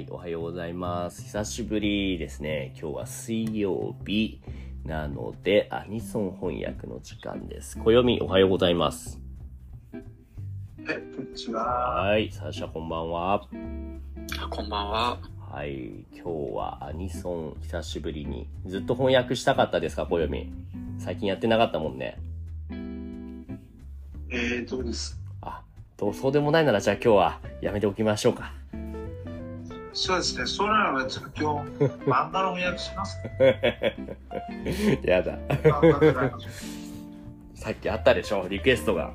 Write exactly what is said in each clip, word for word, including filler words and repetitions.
い、おはようございます。久しぶりですね。今日は水曜日なので、アニソン翻訳の時間です。暦、おはようございます。 え、こんにちは。 はい、サーシャこんばんは。 こんばんは。 はい、今日はアニソン久しぶりに。ずっと翻訳したかったですか、暦。最近やってなかったもんね。 えー、どうです。 あ、どうそうでもないならじゃあ今日はやめておきましょうか。 そうですね。そうならば今日漫画の翻訳します。 やだ。さっきあったでしょ、リクエストが。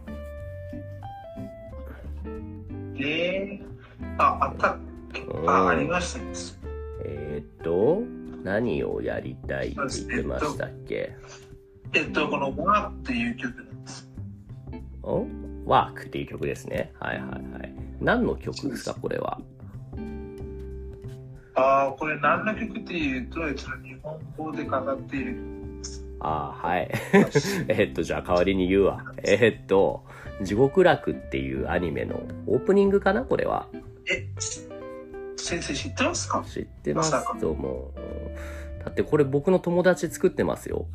えー、あ、あった。あ、ありましたね。 えー、っと、何をやりたいって言ってましたっけ？ えっと、このワークっていう曲なんです。 お？ワークっていう曲ですね。はいはいはい。何の曲ですか、これは。 ああ、これ何の曲っていうと、日本語でかかっている曲です。 ああ、はい。えっと、じゃあ代わりに言うわ。えっと、地獄楽っていうアニメのオープニングかな、これは。 え、先生知ってますか？ 知ってますともう。だってこれ僕の友達作ってますよ。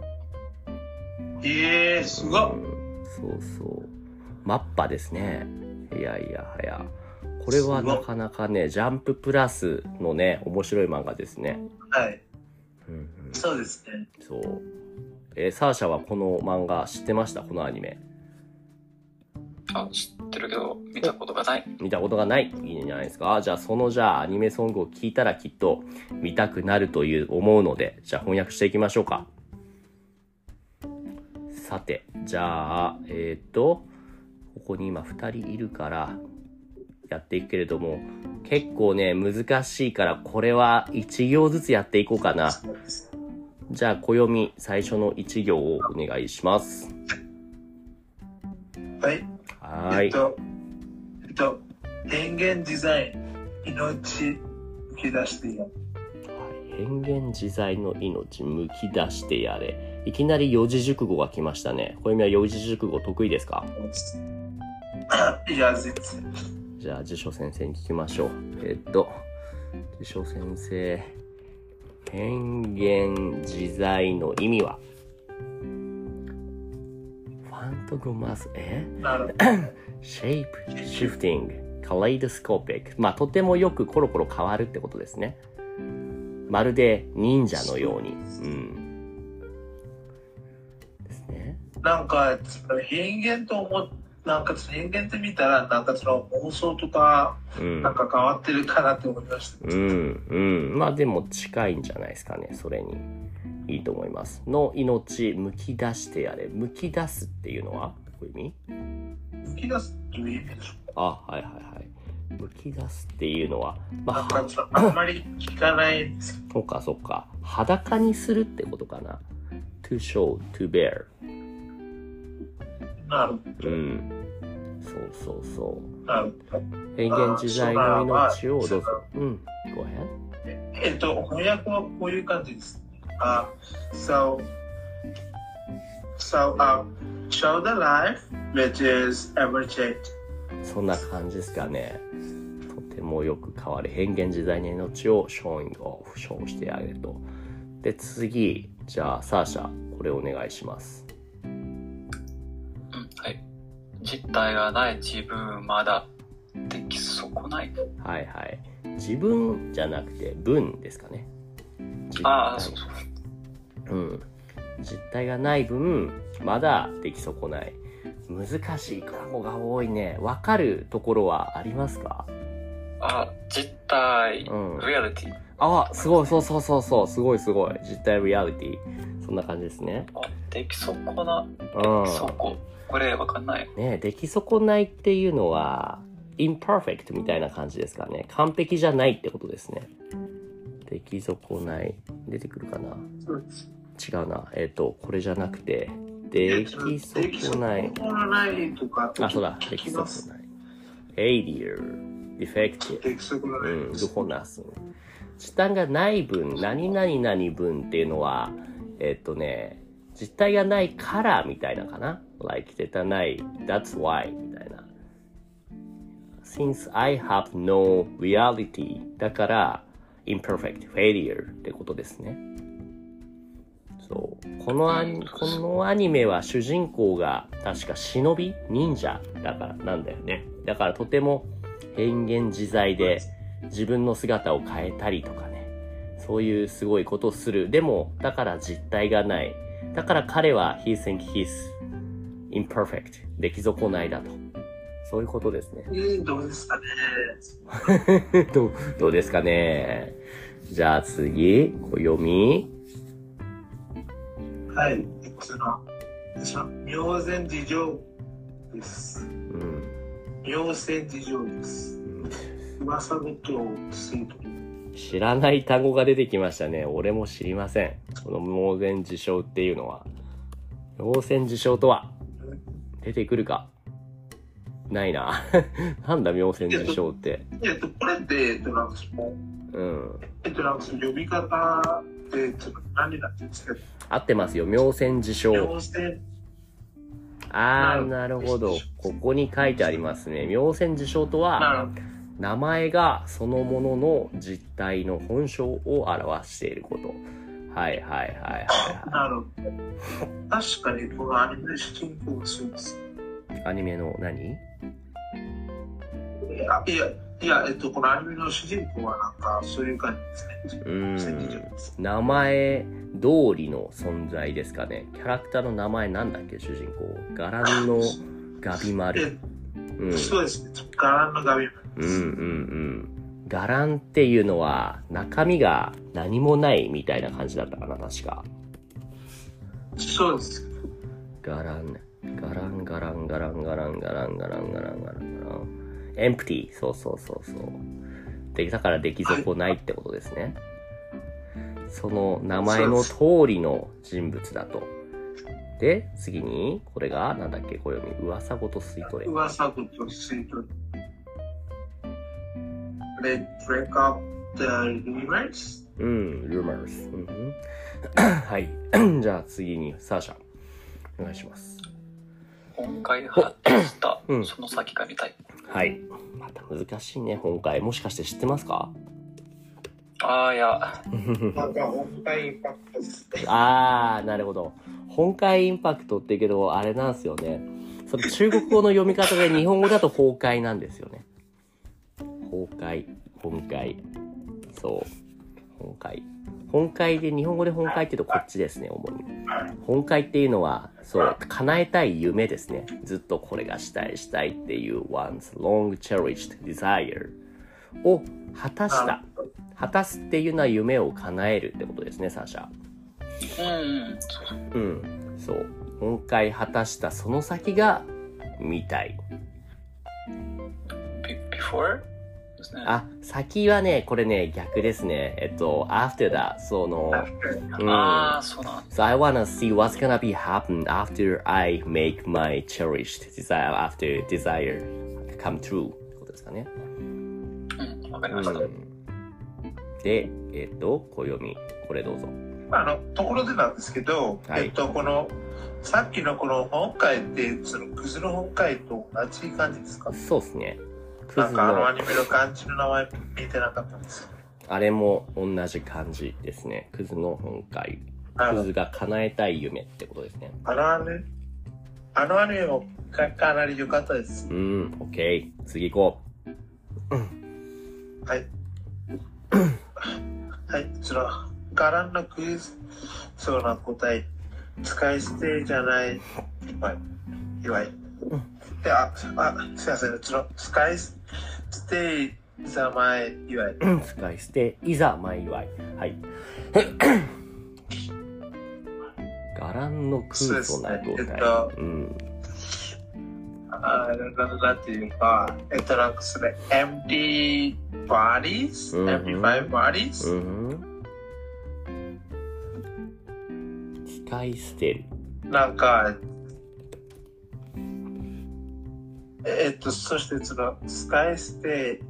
ええー、すごい、 うん。そうそう。マッパですね。いやいやはや。これはなかなかね、ジャンププラスのね、面白い漫画ですね。 はい。 うんうん、 そうですね。 そう。えー、サーシャはこの漫画知ってました？このアニメ。 あ、知ってるけど見たことがない。 見たことがない。いいんじゃないですか。じゃあそのじゃあアニメソングを聞いたらきっと見たくなるという思うので、じゃあ翻訳していきましょうか。さて、じゃあえっとここに今ふたりいるからやっていくけれども、結構ね難しいからこれはいち行ずつやっていこうかな。じゃあ暦最初のいち行をお願いします。 はい。 はい。 えっと、えっと、変幻自在、命むき出してやれ。 変幻自在の命むき出してやれ。いきなり四字熟語が来ましたね。暦は四字熟語得意ですか？ いや、全然。 じゃあ辞書先生に聞きましょう。えっと辞書先生、変幻自在の意味は？ファントグマス、えなるほど。 シェイプシフティング、カレイドスコーピック。まあとてもよくコロコロ変わるってことですね。まるで忍者のように。うん。ですね。 なんか変幻と思っなんか変幻って見たらなんかその妄想とか、うん、なんか変わってるかなって思いました。 うんうん。まあでも近いんじゃないですかね。それにいいと思います。の命むき出してやれ。むき出すっていうのはどういう意味？ むき出すという意味でしょうか？ あ、はいはいはい。むき出すっていうのは、 まあ、なんかあんまり聞かないんですよ。 そうかそうか。裸にするってことかな。to show, to bear。 なるほど。うん。 そうそうそう。 なるほど。 変幻自在の命をどうぞ。うん。ごめん。 えっと、翻訳はこういう感じです。Uh, so, so, uh, show the life which is ever changed. そんな感じですかね。とてもよく変わる変幻自在の命を showing off、ショーしてあげると。で、次、じゃあ、サーシャ、これお願いします。 うん、はい。実体がない自分まだ出来損ない。 はいはい。自分じゃなくて分ですかね。 ああ、そうそう。 うん。実体がない分、まだ出来損ない。難しい単語が多いね。わかるところはありますか？ あ、実体、 うん、 リアリティ。 あ、すごい、そうそうそうそう、すごいすごい。実体リアリティ。そんな感じですね。 あ、出来損な、出来損。これわかんない。 ね、出来損ないっていうのは、imperfect みたいな感じですかね。完璧じゃないってことですね。出来損ない。出てくるかな？違うな。えっと、これじゃなくて、出来損ない。あ、そうだ。出来損ない。failure、defective。 出来損ない。 うん、ルホナス。実体がない分、何々々分っていうのは、えっとね、実体がないからみたいなかな。like 絶対ない。that's why みたいな。 since I have no reality だから imperfect failure ってことですね。そうこのアニこのアニメは主人公が確か忍び忍者だからなんだよね。だからとても変幻自在で自分の姿を変えたりとかね、そういうすごいことをする。でもだから実体がない。だから彼は he think he's imperfect 出来損ないだと。そういうことですね。 えー、どうですかねどう。どうですかね。じゃあ次、暦。 はい。その、その、妙前事情です。うん。妙前事情です。うん、噂事をすると。 知らない単語が出てきましたね。俺も知りません。この妙前事象っていうのは。妙前事象とは出てくるかないな。なんだ妙前事象って。 えっと、これって、えっと、なんかその、うん。えっと、なんかその呼び方って、ちょっと何なんですか？ 合ってますよ。妙前事象。 妙前。 あー、なるほど。ここに書いてありますね。妙前事象とは、名前がそのものの実体の本性を表していること。はいはいはいはい、はい。 なるほど。確かにこのアニメの主人公がそうです。 アニメの何？いや、いや、いや、えっと、このアニメの主人公はなんかそういう感じですね。うん。 名前通りの存在ですかね。キャラクターの名前なんだっけ、主人公。ガランのガビマル。 うん、そうですね。ガランのガビマル。 うんうんうん。ガランっていうのは中身が何もないみたいな感じだったかな、確か。 そうです。 ガラン、ガランガランガランガランガランガランガランガランガラン。エンプティ、そうそうそうそう。で、だから出来損ないってことですね。はい、その名前の通りの人物だと。で、次に、これが、なんだっけ、暦。噂ごと吸い取れ。 噂ごと吸い取れ。Let's break up the rumors? うん、rumors。うん、はい。じゃあ次に、サーシャ。お願いします。 本会発した、うん、その先が見たい。 はい。また難しいね、本会。もしかして知ってますか？ あー、いや。 なんか本会インパクトですね。 あー、なるほど。本会インパクトってけど、あれなんですよね。その中国語の読み方で日本語だと崩壊なんですよね。崩壊、本会。そう。本会。本会で、日本語で本会って言うとこっちですね、主に。本会っていうのは、そう、叶えたい夢ですね。ずっとこれがしたいしたいっていう one's long cherished desire を果たした。果たすっていうのは夢を叶えるってことですね、サーシャ。うん。うん。そう。本会果たしたその先が見たい。 before? あ、先はね、これね、逆ですね。えっと、after that、その、 うん、ああ、そうだ。 So I wanna see what's gonna be happen after I make my cherished desire, after desire come true ってことですかね。 うん、わかりました。うん、 で、えっと、暦、これどうぞ。 あの、ところでなんですけど、はい、えっと、この、さっきのこの本会って、そのクズの本会と同じ感じですか？ そうですね。 なんかあのアニメの漢字の名前見てなかったんですよ。 あれも同じ漢字ですね。クズの本会。クズが叶えたい夢ってことですね。 あのアニメ、あのアニメも か, かなり良かったです。 うん、オッケー。次行こう。はい。はい、その、ガランのクイズ、そうな答え、使い捨てじゃない、はい、祝い。いや、あ、すいません、その、使い捨て、いざ前祝い。 使い捨て、いざ前祝い。はい。ガランの空想な答え。えっと、うん。 あ、なんていうか、えっと、なんかそれ、empty bodies?、うん、empty bodies?、うん、 使い捨てる。 なんか、えっと、そしてその、使い捨て、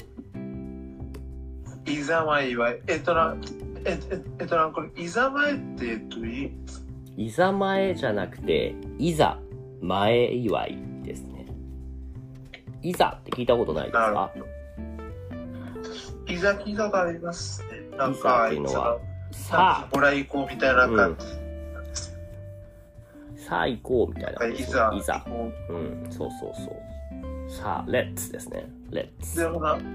いざ前祝い。えっとな、えっと、えっとな、これ、いざ前ってどういう意味ですか？ いざ前じゃなくて、いざ前祝いですね。 いざって聞いたことないですなるか？ ほど。いざ聞いたことありますね。なんいざか、 っていうのは、 さあ、もらい行こうみたいな感じ。 さあ行こうみたいな、 いざ、 いざ。 行こうん、そうそうそう。さあ、レッツですね。レッう。 ツ。 でもな、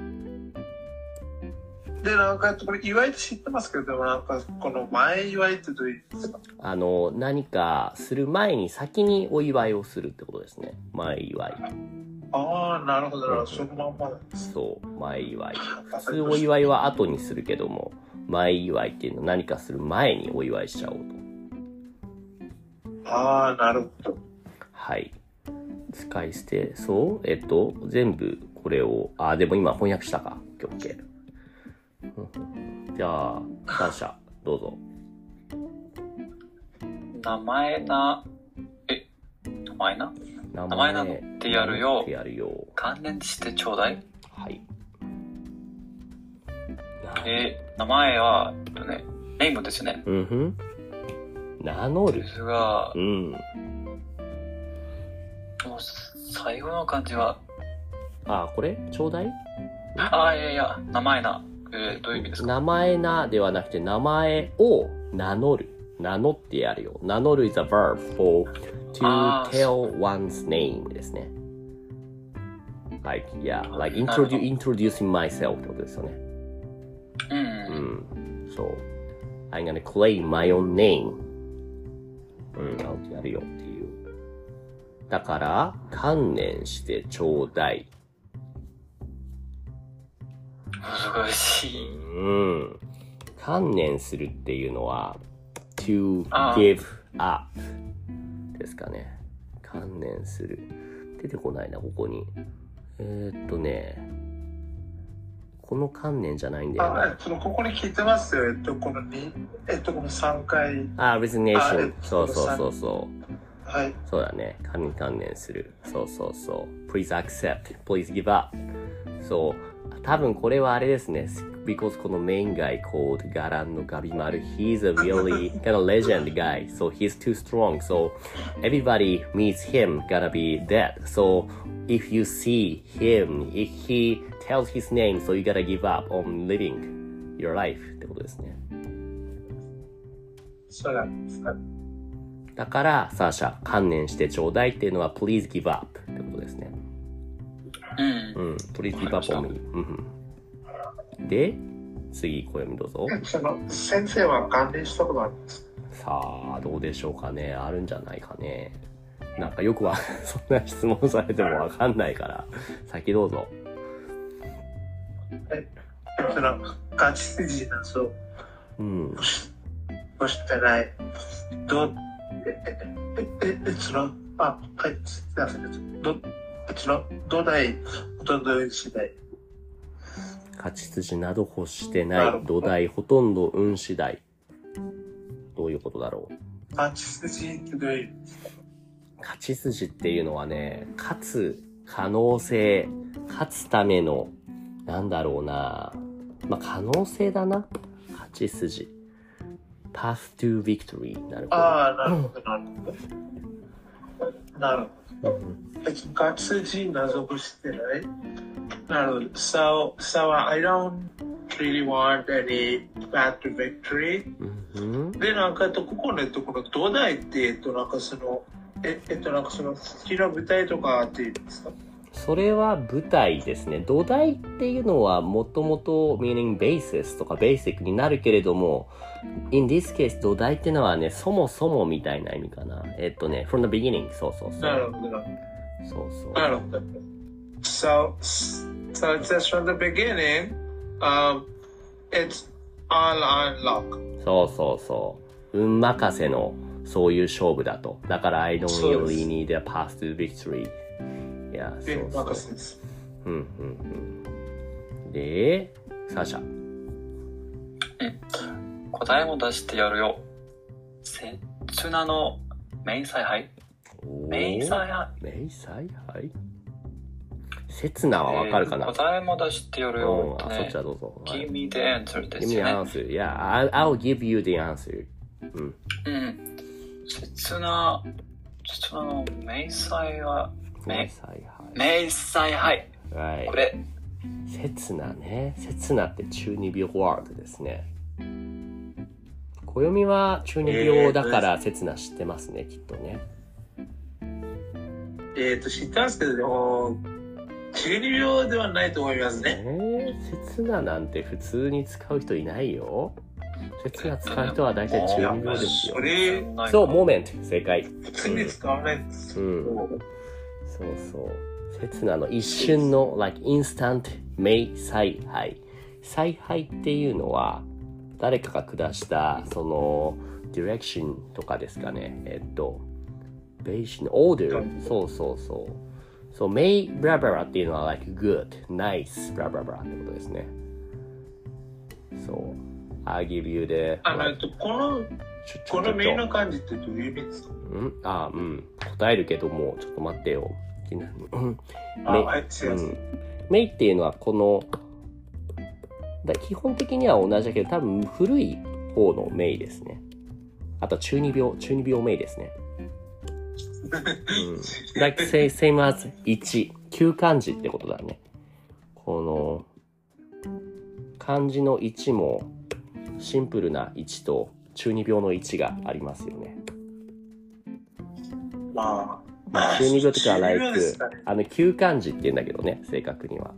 で、なんか、これ、祝いって知ってますけど、でもなんか、この前祝いってどういう意味ですか？ あの、何かする前に先にお祝いをするってことですね。前祝い。 ああ、なるほど、なるほど。そのまんまなんです。 そう、前祝い。普通お祝いは後にするけども、前祝いっていうのは何かする前にお祝いしちゃおうと。 ああ、なるほど。 はい。使い捨て、そう、えっと、全部これを、あ、でも今翻訳したか。オッケー。じゃあ、サーシャ、どうぞ。 名前な、え、名前な名名前名乗ってやるよ名乗ってやるよ。 関連してちょうだい。 はい。 えー、名前は、えっとね、ネームですよね。 うんふん。名乗るで。すがう、ん。 もう最後の漢字は、 あ、これちょうだいああ、いやいや、名前な。えー、どういう意味ですか？ 名前なではなくて、名前を名乗る。名乗ってやるよ。名乗る is a verb for to あー tell one's name ですね。like, yeah, like なるほど introdu- introducing myself ってことですよね。 うん。 うん。そう。I'm gonna claim my own name. うん、I'll やるよっていう。だから、観念してちょうだい。 難しい。 うん。観念するっていうのは、to あ give up ですかね。観念する。出てこないな、ここに。えー、っとね、この観念じゃないんだよあ、えなっ。と、ここに聞いてますよ。えっと、このに、えっと、このさんかい。 あ、 あ resignation え。 そうそうそうそう。 はい。 そうだね。観念観念する。そうそうそう。please accept. please give up. そう。多分これはあれですね。because この main guy called ガランのガビマル he's a really kind of legend guy. So he's too strong. So everybody meets him gonna be dead. So if you see him, if he tells his name, so you gotta give up on living your life ってことですね。 そうなんですか。 だから、サーシャ、観念してちょうだいっていうのは please give up ってことですね。 うん。 うん。please give up on me。うんうん。で、次、小読みどうぞ。 その、先生は関連したことあるんですさあ、どうでしょうかね。あるんじゃないかね。なんかよくは、そんな質問されてもわかんないから、先どうぞ。 か？はい。その、ガチ筋なそう。 うん。 そしてない。ど、え、え、え、え、その、あ、はい、すいません。ど、その、土台、ほとんど次第。 勝ち筋など欲してないなるほ。ど土台ほとんど運次第。どういうことだろう。 ガチ筋ってどういう意味？ 勝ち筋っていうのはね、勝つ可能性、勝つための、なんだろうな。まあ、可能性だな。勝ち筋。path to victory。なるほど。 ああ、なるほど、なるほど。なるほど。 うんガチ筋謎をしてない。なるほど。So, so I don't really want any path to victory. うんうんで、なんか、えっと、ここの、えっと、この土台って、えっと、なんかその、え、えっと、なんかその、好きな舞台とかっていうんですか？ それは舞台ですね。土台っていうのはもともと meaning basis とか basic になるけれども、in this case 土台っていうのはね、そもそもみたいな意味かな。えっとね、from the beginning。そうそうそう。 なるほど。 そうそう。 なるほど。So, so it says from the beginning, um, it's all on luck. そうそうそう。運任せのそういう勝負だと。だから I don't そうです really need a path to victory。いや、そう運そう。 任せです。 うんうんうん。で、サーシャ。 答えも出してやるよ。せつなの明細杯。明細杯。 明細杯刹那はわかるかな、 えー答えも出してやるよ。 うん、あ、そっちはどうぞ。はい Give me the answer で Give す me the よね。 answer. Yeah, I'll, I'll give you the answer. うん。 うん。刹那、刹那の明細は、 明め細杯。 明細、はい。 はい。 これ。 刹那ね。刹那って中二病ワードですね。暦は中二病だから刹那知ってますね、きっとね。 えっと、知ってますけど、でも、中二病ではないと思いますね。 えー、刹那なんて普通に使う人いないよ。刹那使う人は大体中二病ですよ。 それ、 そう、モーメント、正解。 普通に使わないんですよ。 うん。そうそう。刹那の一瞬の、like instant 明采配。采配っていうのは、誰かが下した、その、ディレクションとかですかね。えっと、ベーション、オーダー。そうそうそう。そう、メイブラブラっていうのは、like good, nice, ブラブラブラってことですね。そう。I'll give you the... あの、この、このメイの漢字ってどういう意味ですか？ うんあ、うん。答えるけども、ちょっと待ってよ。 あ、はい、すいません。 メイっていうのは、この、だ基本的には同じだけど、多分古い方のメイですね。あと中二病、中二病メイですね。うん、like say, same as いち、旧漢字ってことだね。この、漢字のいちも、シンプルないちと中二病のいちがありますよね。 まあ、中二病とかは like、あの、旧漢字って言うんだけどね、正確には。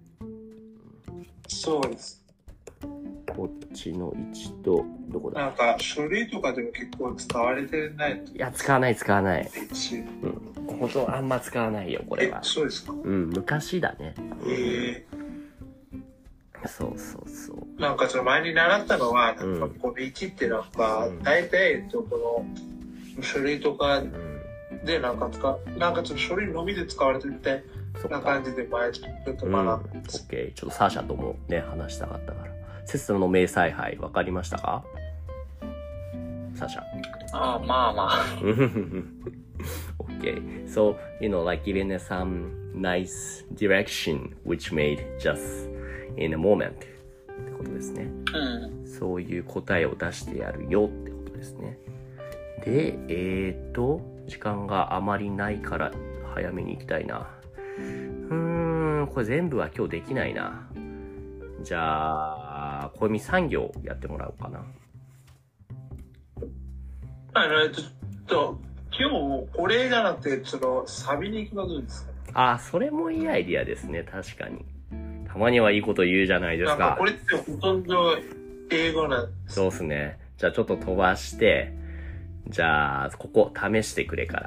そうです。 こっちのいちと、どこだ？ なんか、書類とかでも結構使われてない。 いや、使わない、使わない。 うん。 ほんと、あんま使わないよ、これは。 え、そうですか？ うん、昔だね。 へえー。そうそうそう。 なんか、その前に習ったのは、なんか、このいちってなんか、うん、大体、えっと、この、書類とかで、なんか使う、なんか、その書類のみで使われてるみたいな感じで、前、ちょっと学んでます。 オッケー。ちょっとサーシャともね、話したかったから。刹那の明采配、わかりましたか？サーシャ。 ああ、まあまあ。 Okay. So, you know, like giving us some nice direction which made just in a moment ってことですね。 うん。 そういう答えを出してやるよってことですね。で、えーと、時間があまりないから早めに行きたいな。うーん、これ全部は今日できないな。じゃあ、小読さん行やってもらおうかな。 あの、ちょっと、今日これじゃなくて、その、サビに行くのどうですか？ あ、それもいいアイディアですね、確かに。たまにはいいこと言うじゃないですか。 なんかこれってほとんど英語なんです。 そうですね。じゃあちょっと飛ばして、じゃあ、ここ試してくれから。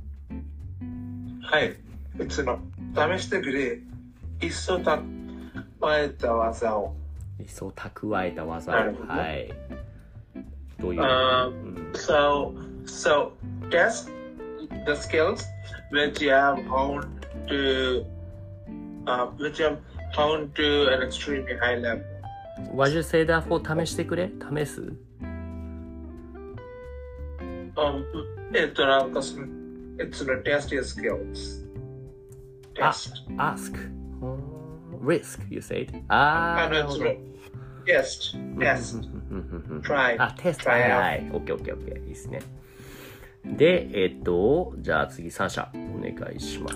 はい。その、試してくれ。いっそた、蓄えた技を。 いっそ蓄えた技を。はい。どういう、 um, so, so, test the skills which you have honed to, uh, which you have honed to an extremely high level. What you say that for 試してくれ？試す？ Um, えっと、なんかその、it's the test your skills. Test. Ah, ask. Risk, you said. あー、なるほど。 Test, test, try. あ、テスト。はいはい。オッケーオッケーオッケー。いいですね。で、えっと、じゃあ次、サーシャ、お願いします。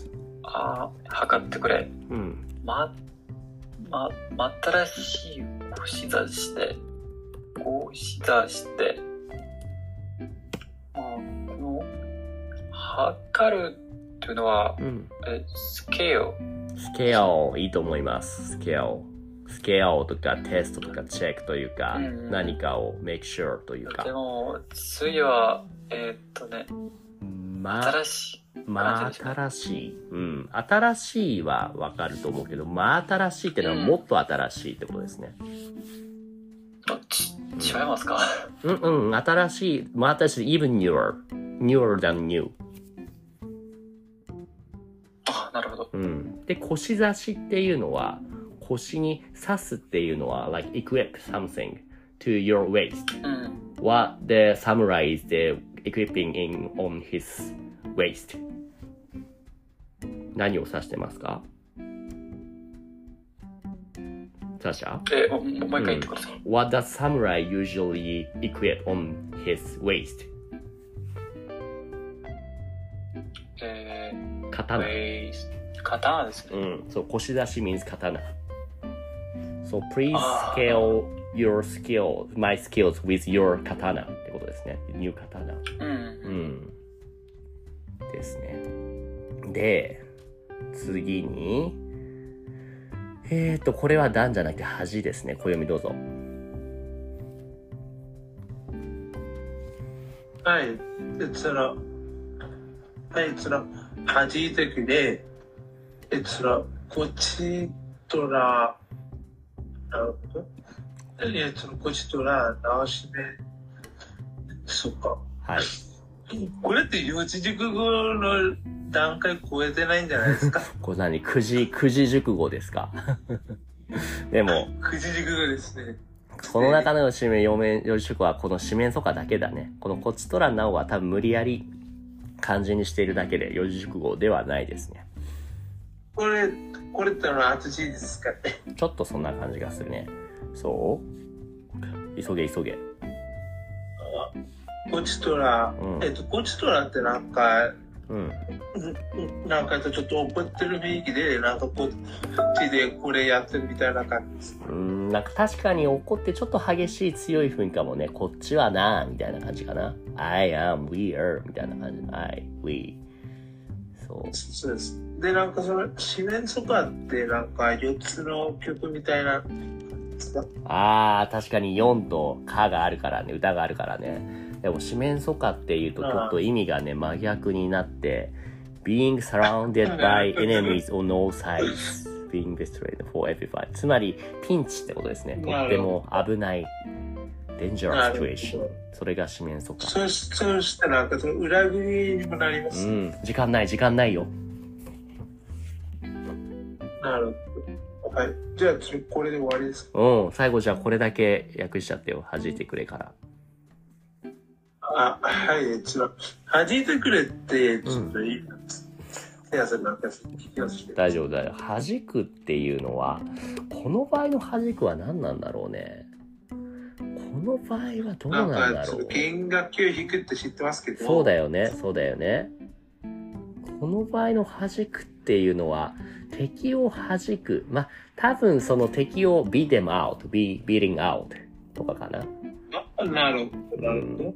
ああ、測ってくれ。 うん。 ま、ま、ま新しい腰座して、腰座して、あこの、測るっていうのは、 うん、 え、スケール。 スケール、いいと思います。スケール。スケールとかテストとかチェックというか、うん、何かを make sure というか。 でも、次は、えー、っとね、 ま、 新しい。 まあ、新しい。うん。新しいはわかると思うけど、まあ、新しいってのはもっと新しいってことですね。 どっち、違いますか？ うんうん、新しい、まあ、新しい、even newer, newer than new。 あ、なるほど。 うん。で、腰差しっていうのは、腰に刺すっていうのは、like equip something to your waist、うん。What the samurai is the equipping in on his waist。何を指してますか？サーシャ？ え、もう一回言ってください。 うん、What does samurai usually equip on his waist？ えー刀。 えー、刀ですね。 うん。そう、腰出し means 刀。So please scale your skill, my skills with your 刀ってことですね。new 刀。 うん。 うん。ですね。で、次に、えーと、これは段じゃなくて恥ですね。小読みどうぞ。 はい。で、その、はい、その、恥いてくれ、え、その、こっちとら、なるほど。え、その、こっちとら、直しめ、そっか。 はい。 これって四字熟語の段階超えてないんじゃないですか？ これ何九字、九字熟語ですか？でも、 九字熟語ですね。 この中の四面、四面、四字熟語はこの四面楚歌だけだね。このこっちとらなおは多分無理やり漢字にしているだけで四字熟語ではないですね。 これ、これってのは厚字ですかね。 ちょっとそんな感じがするね。そう急げ急げ。 こっちとら、うん、えっと、こっちとらってなんか、うん、なんかちょっと怒ってる雰囲気で、なんかこっちでこれやってるみたいな感じです。 うん、なんか確かに怒ってちょっと激しい強い雰囲気かもね。こっちはなみたいな感じかな。I am, we are みたいな感じ。I, we。そう。 そうです。で、なんかその、四面楚歌ってなんかよっつの曲みたいな。 あー、確かによんとかがあるからね、歌があるからね。でも四面楚歌っていうとちょっと意味がね真逆になって being surrounded by enemies on all sides being destroyed for everyone つまりピンチってことですね。とっても危ない dangerous situation それが四面楚歌。 そうそうしたらなんかその裏切りにもなります。 うん時間ない時間ないよ。 なるほど。はいじゃあこれで終わりですか。 うん最後じゃあこれだけ訳しちゃってよ弾いてくれから。 あ、はい、ちょっと、弾いてくれって、ちょっといい、うん、 大丈夫だよ。弾くっていうのは、この場合の弾くは何なんだろうね。この場合はどうなんだろう。なんか弦楽器を弾くって知ってますけど。 そうだよね、そうだよね。この場合の弾くっていうのは、敵を弾く。まあ、多分その敵を beat them out, be beating out とかかな。 あ、なるほど、なるほど。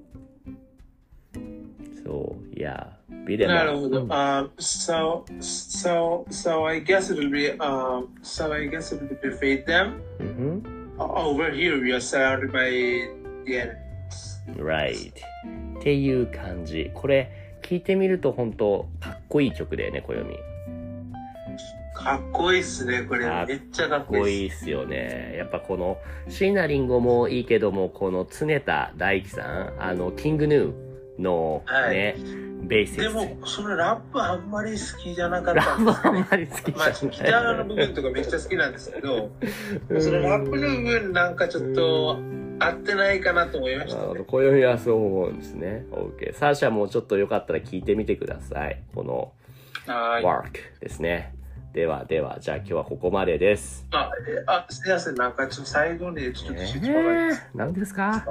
So yeah, beat them out. なるほど。Um, so, so, so I guess it'll be, um, so I guess it'll be defeat them. Mm-hmm. Over here, we are surrounded by the enemies. Right. っていう感じ。これ聞いてみると本当かっこいい曲だよね、小読み。 かっこいいっすね、これ。めっちゃかっこいい。かっこいいっすよね。やっぱこの椎名林檎もいいけども、この常田大樹さん、あのキングヌー。のね、はい、ベースでもそのラップあんまり好きじゃなかったんです、ね、ラップあんまり好きじゃない、まあ、 ギターの部分とかめっちゃ好きなんですけどそのラップの部分なんかちょっと合ってないかなと思いましたね。 暦はそう思うんですね。 OK サーシャもちょっとよかったら聞いてみてください。この Work ですね。ではではじゃあ今日はここまでです。 ああすいませんなんかちょっと最後にちょっと質問があります。何ですか？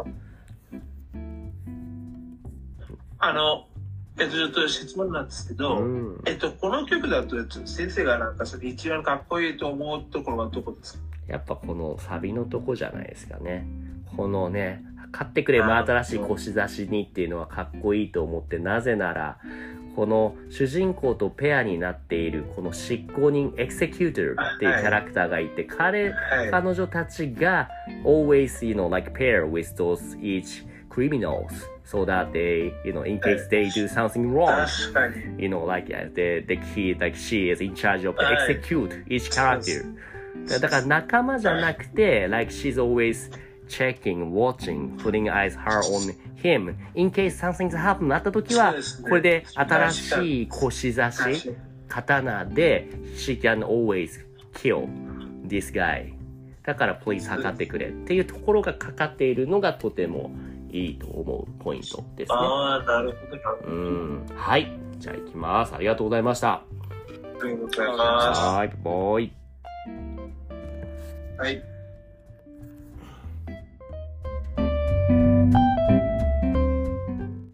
あの、えっと、ちょっと質問なんですけど、うん、えっと、この曲だと、先生がなんかそれ一番かっこいいと思うところはどこですか？ やっぱこのサビのとこじゃないですかね。このね、買ってくれ真新しい腰差しにっていうのはかっこいいと思って、なぜなら、この主人公とペアになっているこの執行人、エクセキューターっていうキャラクターがいて、彼、はい、彼女たちが always, you know, like pair with those each criminals so that they, you know, in case they do something wrong, you know, like they, they, he, like she is in charge of execute each character. だから仲間じゃなくて、like she's always checking, watching, putting eyes her on him. In case something's happened あった時は、これで新しい腰差し、刀で she can always kill this guy. だから please 測ってくれっていうところがかかっているのがとてもいいと思うポイントですね。 ああ、なるほど。 うん。はい。じゃあ行きます。ありがとうございました。 ありがとうございます。 はい。バイバイ。 はい。